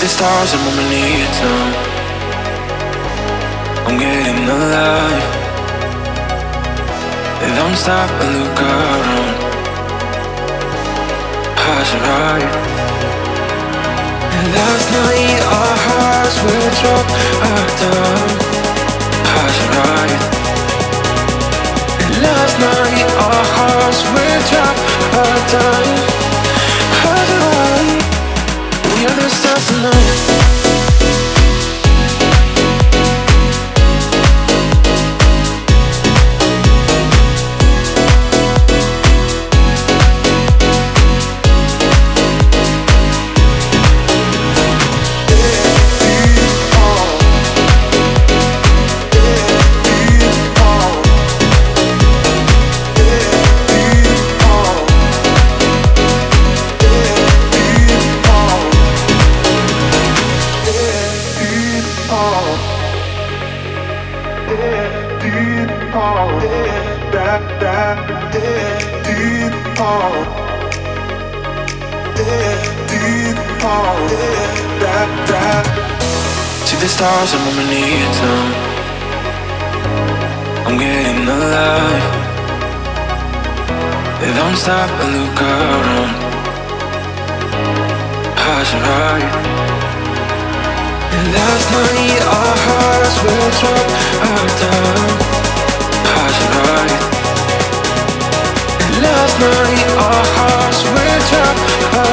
the stars and when we need some. I'm getting alive. Don't stop and look around. Pass it right. Last night our hearts were drop down. Pass it right. Last night our hearts were drop down. Pass it right. We are the stars tonight. See the stars and when we need some. I'm getting alive. Don't stop and look around. Pass it right. Last night our hearts were drop down. Pass it right. Last night our hearts were drop